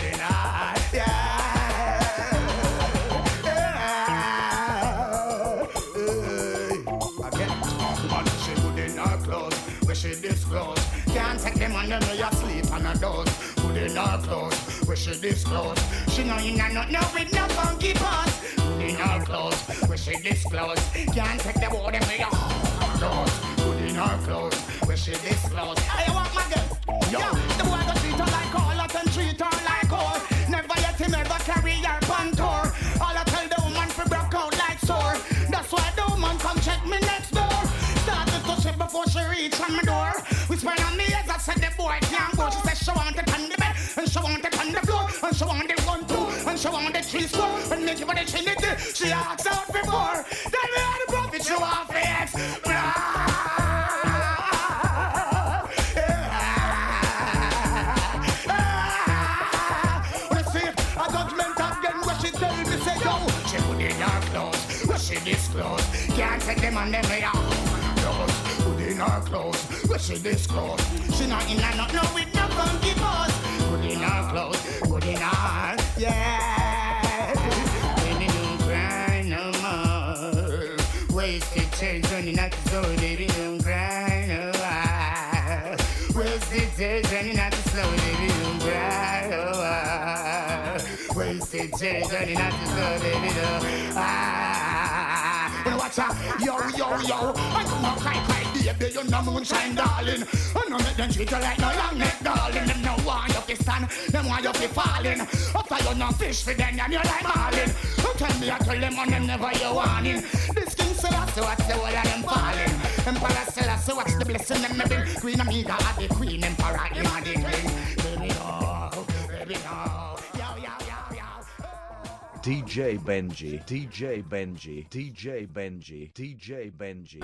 yeah. Where she disclose. Can't take them on them where you sleep on a dose. Put in her clothes, where she disclose. She know you not know with no funky paws. Put in her clothes, where she disclose. Can't take them on them where you dose. Put in her clothes, where she disclose. I want my girl. Yo, the boy go treat her like all, let them treat her like all. Never yet him ever carry her pan tour. All I tell the woman for broke out like sore. That's why the woman come check me next door. Started to shit before she reach on my door. Whisper on me as I said the boy can't go. She said she want it on the bed, and she want it on the floor, and she want it 1, 2, and she want it 3, 4, and make it for the trinity. She asked out before. Then we had the prophet, she want fix. She put in her clothes, where she disclose. Can't take them on them way out. Put in her clothes, where she disclose. She not in and not no with no funky pose. Put in her clothes, put in her, yeah. Baby, don't cry no more. Wasted change running out the store. Baby, don't cry no more. Wasted change running out the store. Baby, don't cry no more. Wasted change running out the store. Baby, don't watch out, yo. I do not cry, baby, you're no moonshine, darling. I know make them treat you like no long neck, darling. Them no want you to stand, them want you to falling. After you no fish for them, and you like marlin. Tell me I tell them on them never you warning. This king Selassie, watch the whole of them falling. Emperor Selassie, watch the blessing them bring. Queen Amiga are the queen, Emperor him are the king. Baby no. DJ Benji, DJ Benji, DJ Benji, DJ Benji, DJ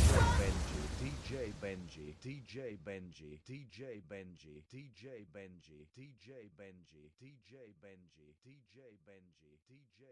Benji, DJ Benji, DJ Benji, DJ Benji, DJ Benji, DJ Benji, DJ Benji, DJ Benji, DJ